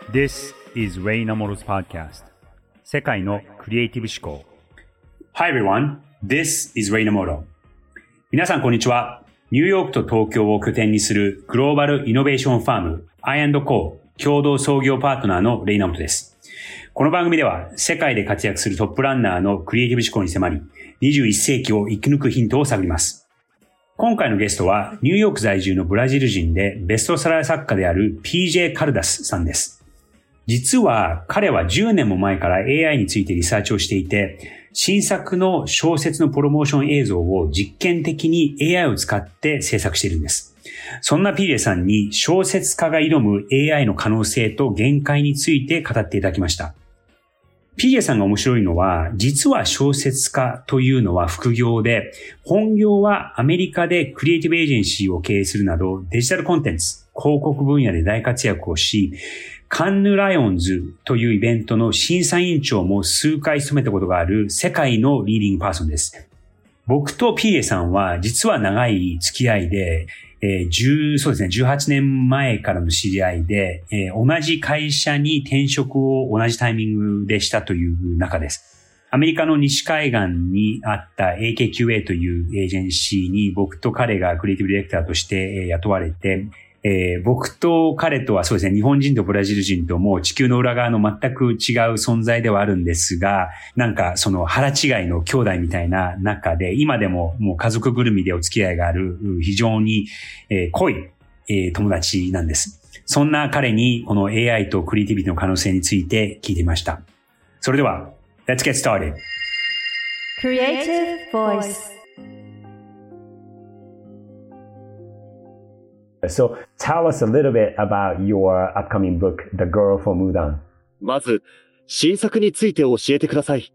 This is Ray Namoro's podcast. 世界のクリエイティブ思考。Hi everyone, this is Ray Namoro. 皆さんこんにちは。ニューヨークと東京を拠点にするグローバルイノベーションファーム I&Co 共同創業パートナーのレイナモトです。この番組では世界で活躍するトップランナーのクリエイティブ思考に迫り、21世紀を生き抜くヒントを探ります。今回のゲストはニューヨーク在住のブラジル人でベストセラー作家である PJ カルダスさんです。実は彼は10年も前から AI についてリサーチをしていて、新作の小説のプロモーション映像を実験的に AI を使って制作しているんです。そんな PJ さんに小説家が挑む AI の可能性と限界について語っていただきました。PJ さんが面白いのは、実は小説家というのは副業で、本業はアメリカでクリエイティブエージェンシーを経営するなど、デジタルコンテンツ、広告分野で大活躍をし、カンヌライオンズというイベントの審査委員長も数回務めたことがある世界のリーディングパーソンです。僕と PJ さんは実は長い付き合いで、そうですね、18年前からの知り合いで、同じ会社に転職を同じタイミングでしたという中です。アメリカの西海岸にあった AKQA というエージェンシーに僕と彼がクリエイティブディレクターとして雇われて、僕と彼とはそうですね、日本人とブラジル人ともう地球の裏側の全く違う存在ではあるんですが、なんかその腹違いの兄弟みたいな中で、今でももう家族ぐるみでお付き合いがある非常に濃い友達なんです。そんな彼にこの AI とクリエイティビティの可能性について聞いてみました。それでは、Let's get started. Creative Voice.So tell us a little bit about your upcoming book, The Girl from Mudan. まず、新作について教えてください。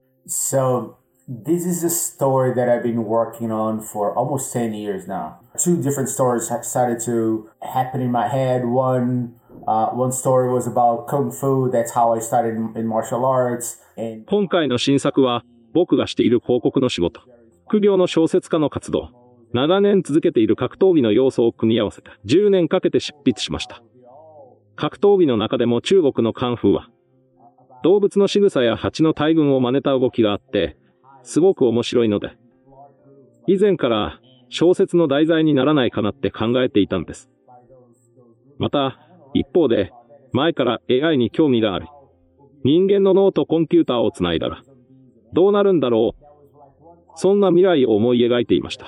So this is a story that I've been working on for almost 10 years now. Two different stories have started to happen in my head. One story was about Kung Fu. That's how I started in martial arts. 今回の新作は、僕がしている広告の仕事、副業の小説家の活動、長年続けている格闘技の要素を組み合わせて10年かけて執筆しました。格闘技の中でも中国のカンフーは、動物の仕草や蜂の大群を真似た動きがあって、すごく面白いので、以前から小説の題材にならないかなって考えていたんです。また、一方で、前から AI に興味があり、人間の脳とコンピューターをつないだら、どうなるんだろう。そんな未来を思い描いていました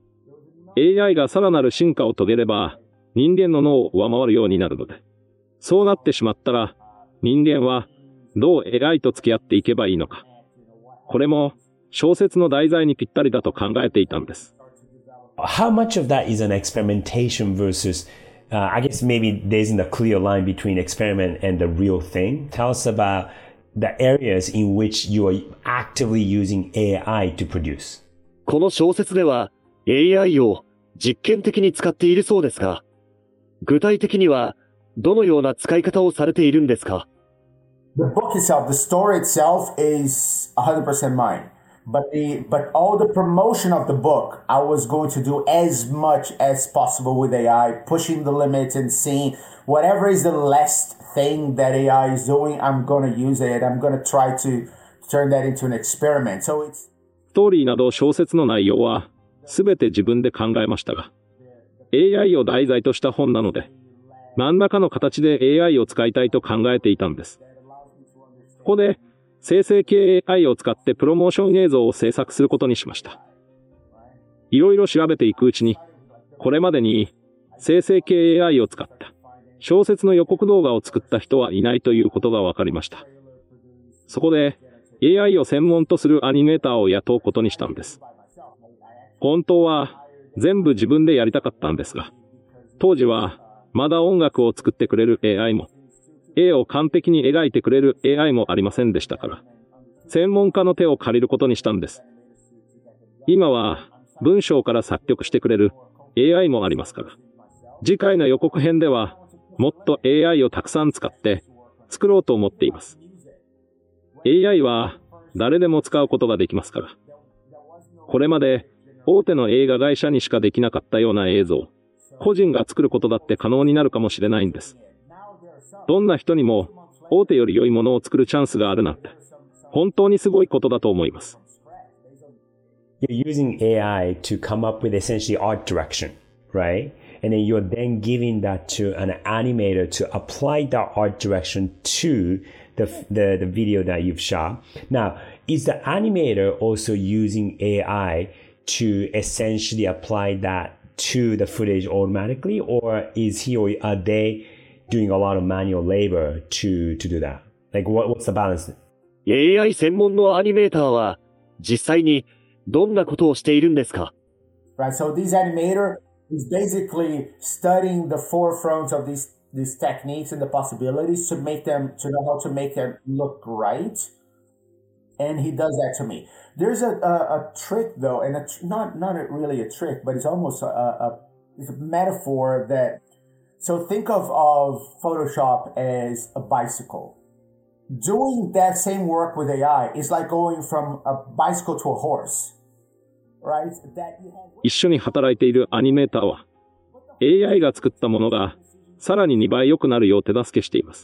。AI がさらなる進化を遂げれば、人間の脳を上回るようになるので、そうなってしまったら、人間はどう AI と付き合っていけばいいのか。これも小説の題材にぴったりだと考えていたんです。 How much of that is an experimentation versus, I guess maybe there isn't a clear line between experiment and the real thing. Tell us about the areas in which you are actively using AI to produce. この小説では AI を実験的に使っているそうですが、具体的にはどのような使い方をされているんですか？ The book itself, the story itself is 100% mine. But all the promotion of the book, I was going to do as much as possible with AI, pushing the limits and seeing whatever is the last thing that AI is doing, I'm going to use it. I'm going to try to turn that into an experiment. So it's... ストーリーなど小説の内容はすべて自分で考えましたが、AI を題材とした本なので、何らかの形で AI を使いたいと考えていたんです。ここで、生成系 AI を使ってプロモーション映像を制作することにしました。いろいろ調べていくうちに、これまでに生成系 AI を使った小説の予告動画を作った人はいないということが分かりました。そこで AI を専門とするアニメーターを雇うことにしたんです。本当は全部自分でやりたかったんですが、当時はまだ音楽を作ってくれる AI も、絵を完璧に描いてくれる AI もありませんでしたから、専門家の手を借りることにしたんです。今は文章から作曲してくれる AI もありますから、次回の予告編ではもっと AI をたくさん使って作ろうと思っています。AI は誰でも使うことができますから、これまで大手の映画会社にしかできなかったような映像、個人が作ることだって可能になるかもしれないんです。 どんな人にも大手より良いものを作るチャンスがあるなんて、本当にすごいことだと思います。 You're using AI to come up with essentially art direction, right? And then you're then giving that to an animator to apply that art direction to the video that you've shot. Now, is the animator also using AI to essentially apply that to the footage automatically, or is he or are they doing a lot of manual labor to do that? Like what's the balance? AI 専門のアニメーターは実際にどんなことをしているんですか？ Right, so this animator is basically studying the forefront of these techniques and the possibilities to know how to make them look right. And he does that to me. There's a trick though, and not really a trick, but it's almost it's a metaphor that, so think of Photoshop as a bicycle. Doing that same work with AI is like going from a bicycle to a horse, right? 一緒に働いているアニメーターは AI が作ったものがさらに2倍良くなるよう手助けしています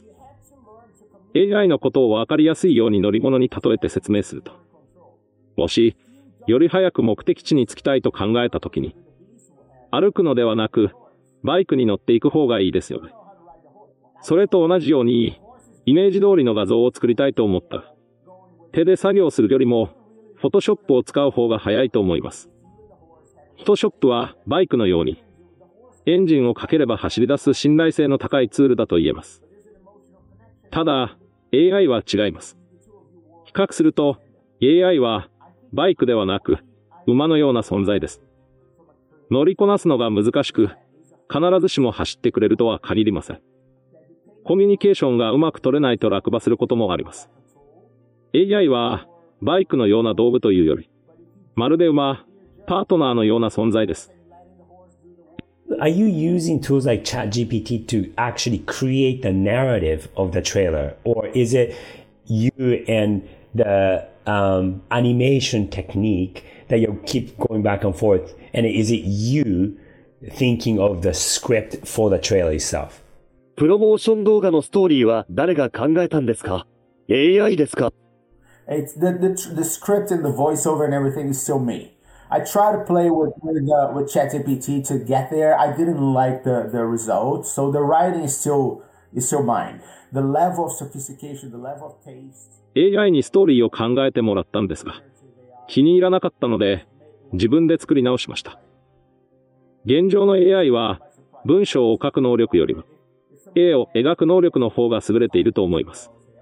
。AI のことを分かりやすいように乗り物に例えて説明すると、もしより早く目的地に着きたいと考えたときに、歩くのではなくバイクに乗っていく方がいいですよね。それと同じようにイメージ通りの画像を作りたいと思ったら、手で作業するよりも Photoshop を使う方が早いと思います。Photoshop はバイクのようにエンジンをかければ走り出す信頼性の高いツールだと言えます。ただ、AI は違います。比較すると、AI はバイクではなく、馬のような存在です。乗りこなすのが難しく、必ずしも走ってくれるとは限りません。コミュニケーションがうまく取れないと落馬することもあります。AI はバイクのような道具というより、まるで馬、パートナーのような存在です。 Are you using tools like ChatGPT to actually create the narrative of the trailer? Or is it you and the animation technique that you keep going back and forth? And is it you thinking of the script for the trailer itself? プロモーション動画のストーリーは誰が考えたんですか？ AI ですか？ It's the script and the voiceover and everything is still me.I try to play with ChatGPT to get there. I didn't like the result, so the writing is still mine. The level of sophistication, the level of taste. AI にストーリーを考えてもらったんですが、気に入らなかったので自分で作り直しました。現状の AI は文章を書く能力よりも絵を描く能力の方が優れていると思います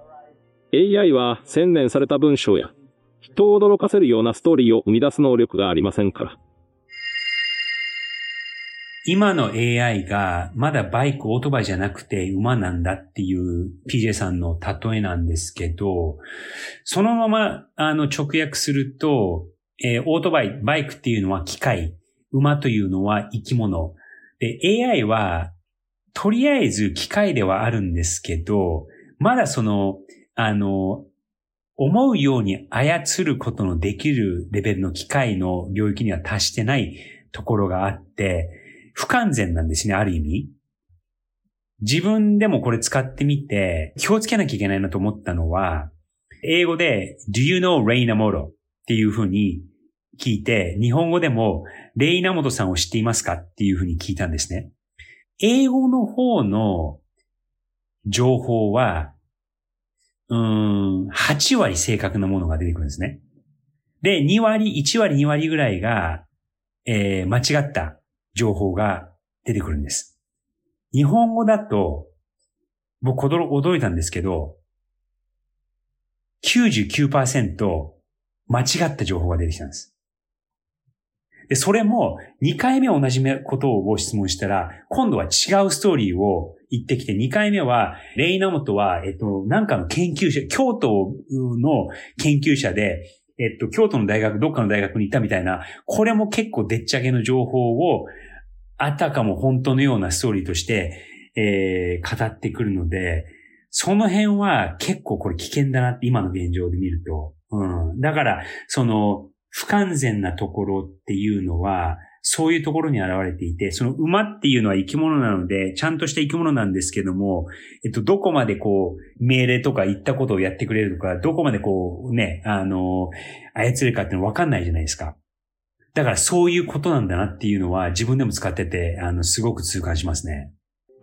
。AI は洗練された文章や人を驚かせるようなストーリーを生み出す能力がありませんから。 今の AI がまだバイク、オートバイじゃなくて馬なんだっていう PJ さんの例えなんですけど、そのまま直訳すると、オートバイ、バイクっていうのは機械、馬というのは生き物。で、AI はとりあえず機械ではあるんですけど、まだ思うように操ることのできるレベルの機械の領域には達してないところがあって、不完全なんですね、ある意味。自分でもこれ使ってみて、気をつけなきゃいけないなと思ったのは、英語で Do you know レイナモロっていうふうに聞いて、日本語でもレイナモトさんを知っていますかっていうふうに聞いたんですね。英語の方の情報は、8割正確なものが出てくるんですね。で、1割2割ぐらいが、間違った情報が出てくるんです。日本語だと、僕驚いたんですけど、99% 間違った情報が出てきたんです。で、それも2回目同じことを質問したら、今度は違うストーリーを言ってきて、2回目は、レイナモトは、なんかの研究者、京都の研究者で、京都の大学、どっかの大学に行ったみたいな、これも結構でっち上げの情報を、あたかも本当のようなストーリーとして、語ってくるので、その辺は結構これ危険だなって今の現状で見ると。だから、不完全なところっていうのは、 そういうところに現れていて、その馬っていうのは生き物なので、ちゃんとした生き物なんですけども、どこまでこう、命令とか言ったことをやってくれるとか、どこまでこうね、操れるかっていうのわかんないじゃないですか。だからそういうことなんだなっていうのは自分でも使ってて、すごく痛感しますね。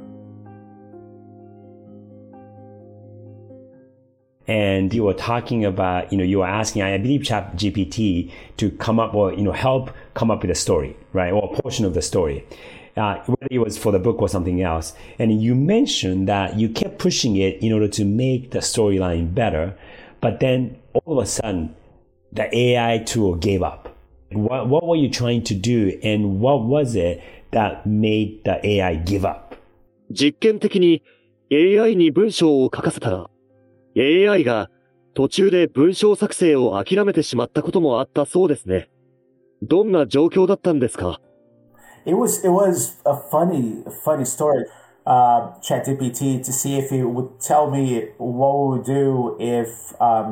And you were talking about, you were asking, I believe, ChatGPT to come up or, help come up with a story, right? Or a portion of the story, whether it was for the book or something else. And you mentioned that you kept pushing it in order to make the storyline better. But then all of a sudden, the AI tool gave up. What were you trying to do? And what was it that made the AI give up? 実験的に AI に文章を書かせたら、AI が途中で文章作成を諦めてしまったこともあったそうですね。どんな状況だったんですか？ It was a funny story. ChatGPT to see if it would tell me what we would do if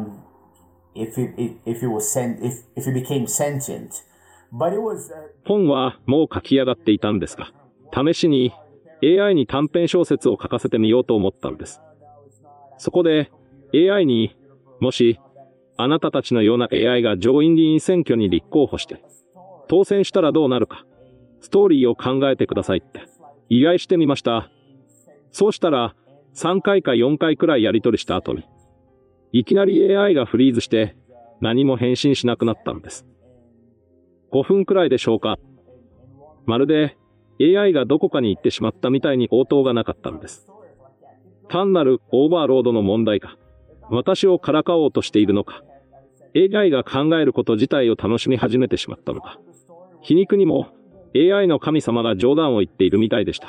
it became sentient. But it was 本はもう書き上がっていたんですが、試しに AI に短編小説を書かせてみようと思ったんです。そこで AI にもしあなたたちのような AI が上院議員選挙に立候補して当選したらどうなるかストーリーを考えてくださいって依頼してみました。そうしたら3回か4回くらいやり取りした後にいきなり AI がフリーズして何も返信しなくなったんです。5分くらいでしょうか。まるで AI がどこかに行ってしまったみたいに応答がなかったんです。単なるオーバーロードの問題か、私をからかおうとしているのか、AI が考えること自体を楽しみ始めてしまったのか、皮肉にも AI の神様が冗談を言っているみたいでした。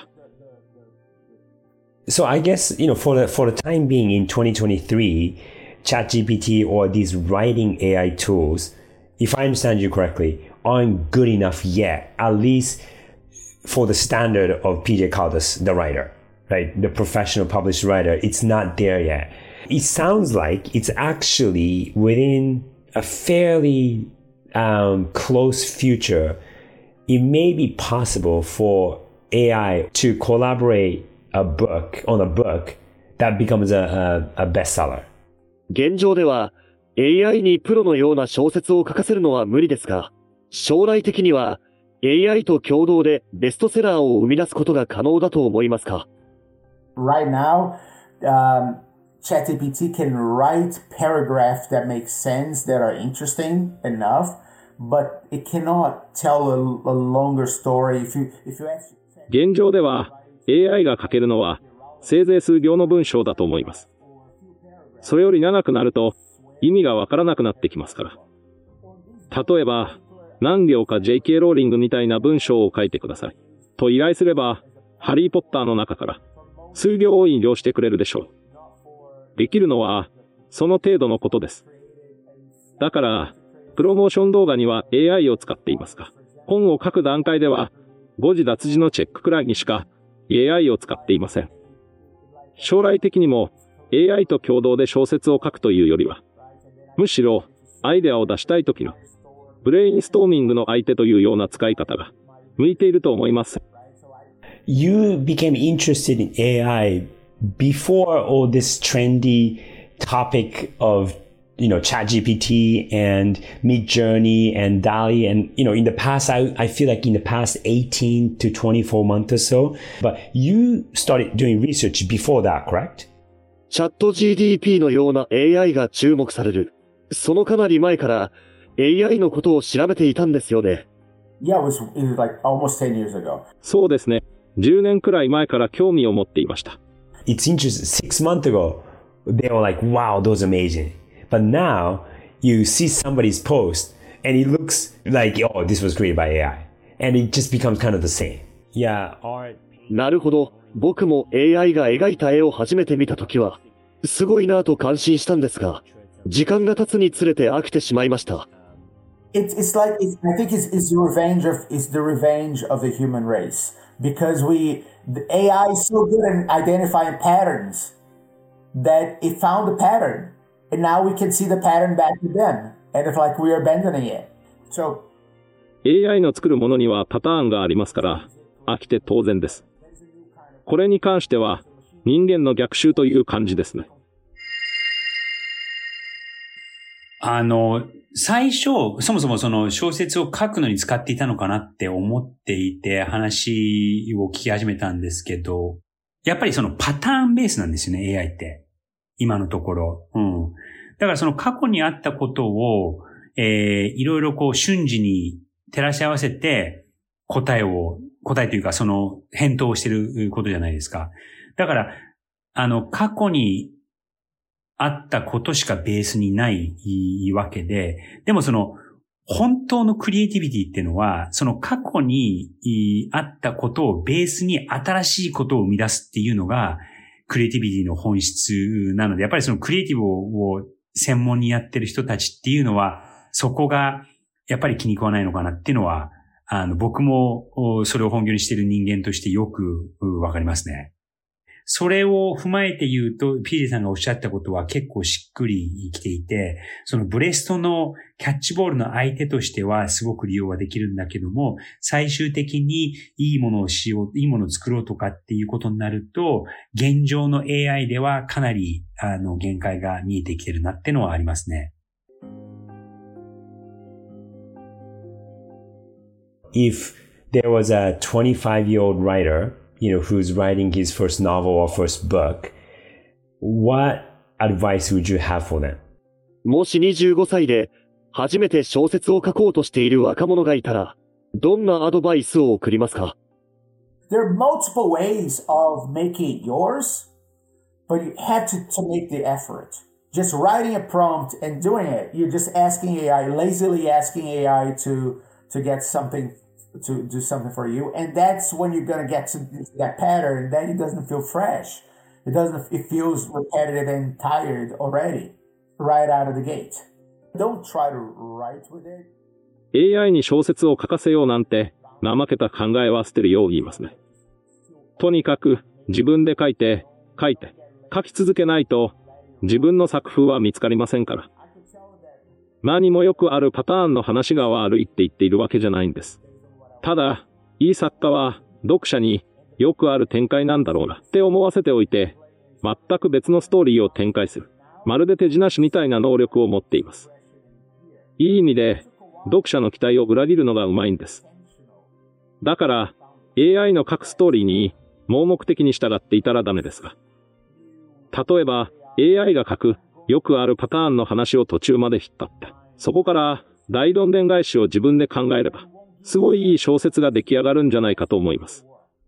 So I guess, for the time being in 2023, ChatGPT or these writing AI tools, if I understand you correctly, aren't good enough yet, at least for the standard of PJ Caldas, the writer, right? The professional published writer. It's not there yet. It sounds like it's actually within a fairly close future. It may be possible for AI to collaborate on a book that becomes a bestseller. 現状では AI にプロのような小説を書かせるのは無理ですが、将来的には AI と共同でベストセラーを生み出すことが可能だと思いますか？ Right now, ChatGPT can write paragraphs that make sense, that are interesting enough, but it cannot tell a longer story. If you actually... 現状では AI が書けるのはせいぜい数行の文章だと思います。それより長くなると意味がわからなくなってきますから。例えば、何行か JK ローリングみたいな文章を書いてください。と依頼すれば、ハリーポッターの中から数行を引用してくれるでしょう。できるのは、その程度のことです。だから、プロモーション動画には AI を使っていますが、本を書く段階では、誤字脱字のチェックくらいにしか AI を使っていません。将来的にも AI と共同で小説を書くというよりは、むしろアイデアを出したいときのブレインストーミングの相手というような使い方が向いていると思います。 You became interested in AI before all this trendy topic of, ChatGPT and Midjourney and DALL-E. And, in the past, I feel like in the past 18 to 24 months or so, but you started doing research before that, correct? チャット GDP のような AI が注目される。そのかなり前から AI のことを調べていたんですよね。 Yeah, it was like almost 10 years ago. そうですね。10年くらい前から興味を持っていました。 It's interesting. 6 months ago, they were like, wow, those are amazing. But now, you see somebody's post, and it looks like, oh, this was created by AI. And it just becomes kind of the same. Yeah, art. なるほど。僕も AI が描いた絵を初めて見たときは、すごいなぁと感心したんですが、時間が経つにつれて飽きてしまいました。 It's like, I think it's the revenge of the human race. Because the AI is so good at identifying patterns that it found the pattern. And now we can see the pattern back to them. And it's like we're abandoning it. So AI の作るものにはパターンがありますから、飽きて当然です。これに関しては、人間の逆襲という感じですね。 最初、そもそもその小説を書くのに使っていたのかなって思っていて話を聞き始めたんですけど、やっぱりそのパターンベースなんですよね、AI って。今のところ。だからその過去にあったことを、いろいろこう瞬時に照らし合わせて答えというかその返答をしてることじゃないですか。だから、過去にあったことしかベースにないわけで、でもその本当のクリエイティビティっていうのは、その過去にあったことをベースに新しいことを生み出すっていうのがクリエイティビティの本質なので、やっぱりそのクリエイティブを専門にやってる人たちっていうのは、そこがやっぱり気に食わないのかなっていうのは、僕もそれを本業にしている人間としてよくわかりますね。それを踏まえて言うと、PJ さんがおっしゃったことは結構しっくりきていて、そのブレストのキャッチボールの相手としてはすごく利用はできるんだけども、最終的にいいものを作ろうとかっていうことになると、現状の AI ではかなり限界が見えてきてるなってのはありますね。 If there was a 25-year-old writer, who's writing his first novel or first book, what advice would you have for them? もし25歳で初めて小説を書こうとしている若者がいたら、どんなアドバイスを送りますか？ There are multiple ways of making it yours, but you have to make the effort. Just writing a prompt and doing it, you're just asking AI, lazily asking AI to get something, to do something for you. And that's when you're going to get to that pattern. Then it doesn't feel fresh. It feels repetitive and tired already, right out of the gate. Don't try to write with it. AI に小説を書かせようなんて、怠けた考えは捨てるよう言いますね。とにかく自分で書き続けないと自分の作風は見つかりませんから。何もよくあるパターンの話が悪いって言っているわけじゃないんです。ただ、いい作家は読者によくある展開なんだろうなって思わせておいて、全く別のストーリーを展開する。まるで手品師みたいな能力を持っています。いい意味で、読者の期待を裏切るのがうまいんです。だから、AI の書くストーリーに盲目的に従っていたらダメですが。例えば、AI が書くよくあるパターンの話を途中まで引っ張って、そこから大どんでん返しを自分で考えれば、すごいいい小説が出来上がるんじゃないかと思います。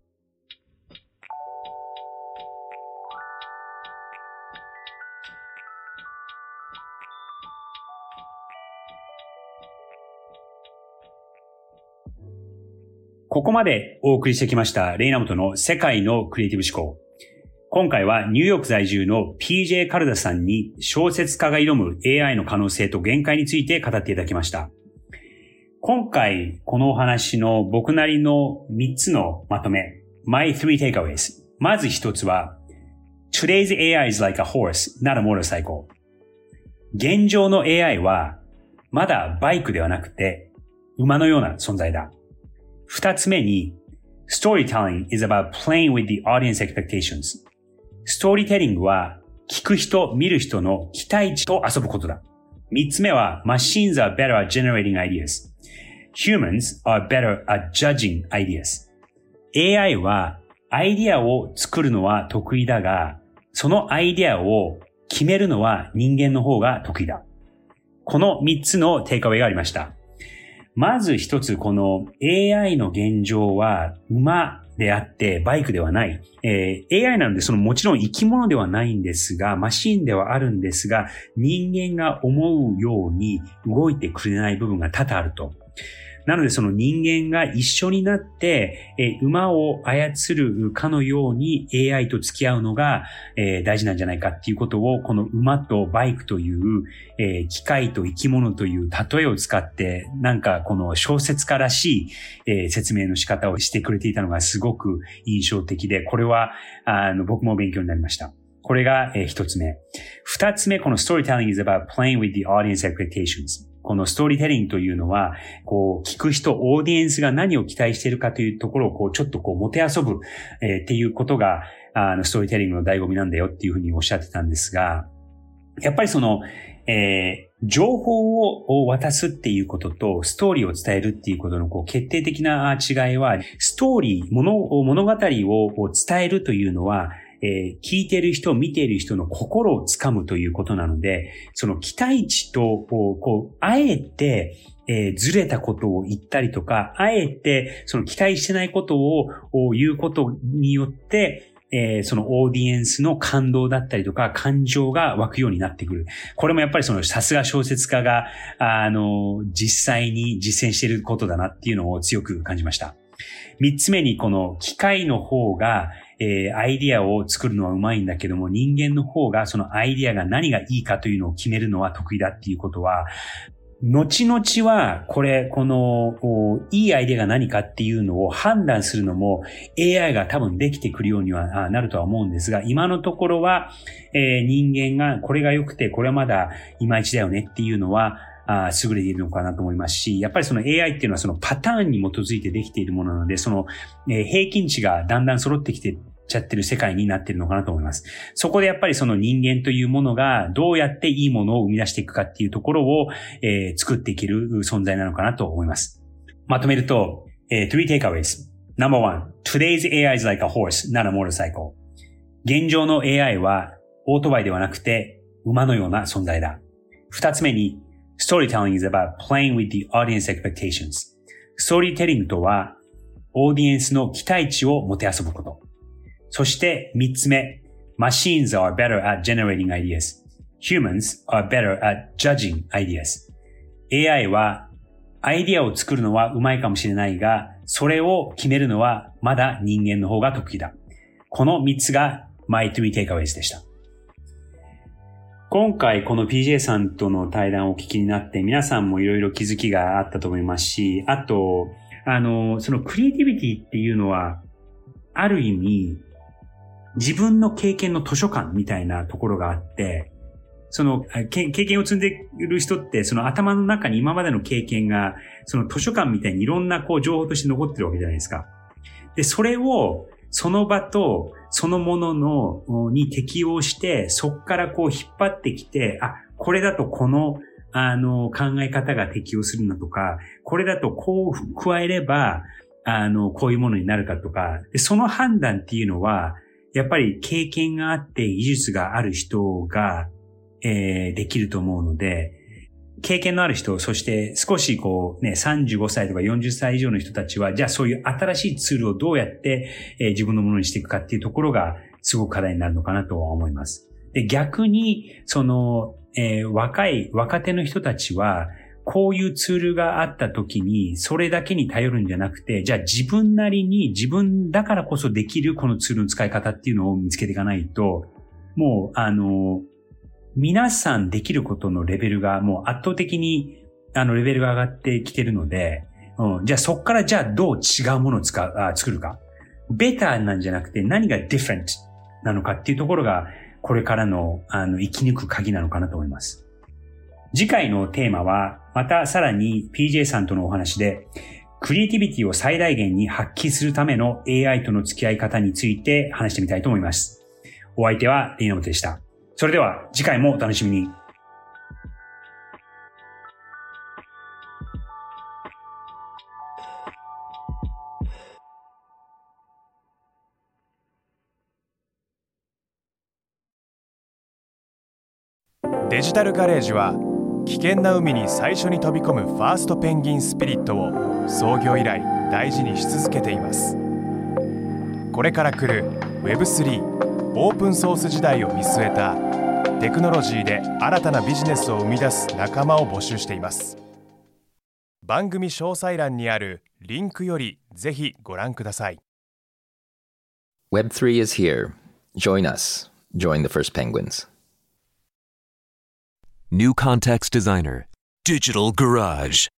ここまでお送りしてきましたレイナモトの世界のクリエイティブ思考。今回はニューヨーク在住の PJ カルダさんに小説家が挑む AI の可能性と限界について語っていただきました。今回このお話の僕なりの3つのまとめ、My three takeaways。まず一つは Today's AI is like a horse, not a motorcycle。現状の AI はまだバイクではなくて馬のような存在だ。二つ目に Storytelling is about playing with the audience expectations。ストーリーテリングは聞く人、見る人の期待値と遊ぶことだ。三つ目は Machines are better at generating ideas。Humans are better at judging ideas。AI はアイディアを作るのは得意だが、そのアイディアを決めるのは人間の方が得意だ。この三つのテイクアウェイがありました。まず一つ、この AI の現状は馬であってバイクではない。AI なのでもちろん生き物ではないんですが、マシンではあるんですが、人間が思うように動いてくれない部分が多々あると。なのでその人間が一緒になって、馬を操るかのように AI と付き合うのが、大事なんじゃないかっていうことを、この馬とバイクという、機械と生き物という例えを使って、なんかこの小説家らしい、説明の仕方をしてくれていたのがすごく印象的で、これは僕も勉強になりました。これが、一つ目。二つ目、この Storytelling is about playing with the audience expectations。 このストーリーテリングというのは、こう、聞く人、オーディエンスが何を期待しているかというところを、こう、ちょっとこう、もてあそぶ、っていうことが、ストーリーテリングの醍醐味なんだよっていうふうにおっしゃってたんですが、やっぱりその、情報を渡すっていうことと、ストーリーを伝えるっていうことのこう決定的な違いは、ストーリー、物語を伝えるというのは、聞いている人、見ている人の心をつかむということなので、その期待値と、こう、あえて、ずれたことを言ったりとか、あえて、その期待してないことを言うことによって、そのオーディエンスの感動だったりとか感情が湧くようになってくる。これもやっぱりそのさすが小説家が、実際に実践していることだなっていうのを強く感じました。三つ目にこの機械の方が、アイディアを作るのはうまいんだけども、人間の方がそのアイディアが何がいいかというのを決めるのは得意だっていうことは、後々は、この、いいアイデアが何かっていうのを判断するのも AI が多分できてくるようにはなるとは思うんですが、今のところは、人間がこれが良くて、これはまだいまいちだよねっていうのは、優れているのかなと思いますし、やっぱりその AI っていうのはそのパターンに基づいてできているものなので、その、平均値がだんだん揃ってきてちゃってる世界になっているのかなと思います。そこでやっぱりその人間というものがどうやっていいものを生み出していくかっていうところを、作っていける存在なのかなと思います。まとめると、three takeaways. Number one, today's AI is like a horse, not a motorcycle. 現状の AI はオートバイではなくて馬のような存在だ。二つ目に、storytelling is about playing with the audience expectations. ストーリーテリングとは、オーディエンスの期待値をもてあそぶこと。そして三つ目、Machines are better at generating ideas. Humans are better at judging ideas. AI はアイディアを作るのはうまいかもしれないが、それを決めるのはまだ人間の方が得意だ。この三つが My Three Takeaways でした。今回この PJ さんとの対談をお聞きになって皆さんもいろいろ気づきがあったと思いますし、あと、そのクリエイティビティっていうのはある意味自分の経験の図書館みたいなところがあって、その経験を積んでいる人ってその頭の中に今までの経験がその図書館みたいにいろんなこう情報として残ってるわけじゃないですか。で、それをその場とそのものに適応して、そこからこう引っ張ってきて、これだとこの考え方が適応するんだとか、これだとこう加えればこういうものになるかとか、でその判断っていうのはやっぱり経験があって技術がある人が、できると思うので、経験のある人、そして少しこうね、35歳とか40歳以上の人たちは、じゃあそういう新しいツールをどうやって、自分のものにしていくかっていうところがすごく課題になるのかなとは思います。で、逆に、その、若手の人たちは、こういうツールがあった時に、それだけに頼るんじゃなくて、じゃあ自分なりに自分だからこそできるこのツールの使い方っていうのを見つけていかないと、もう皆さんできることのレベルがもう圧倒的にレベルが上がってきてるので、じゃあそっからじゃあどう違うものを作るか。ベターなんじゃなくて何が different なのかっていうところがこれからの生き抜く鍵なのかなと思います。次回のテーマはまたさらに PJ さんとのお話でクリエイティビティを最大限に発揮するための AI との付き合い方について話してみたいと思います。お相手はリーナモトでした。それでは次回もお楽しみに。 デジタルガレージは危険な海に最初に飛び込むファーストペンギンスピリットを創業以来大事にし続けています。これから来る Web3 オープンソース時代を見据えたテクノロジーで新たなビジネスを生み出す仲間を募集しています。番組詳細欄にあるリンクよりぜひご覧ください。 Web3 is here. Join us. Join the first penguins. New Context Designer, Digital Garage.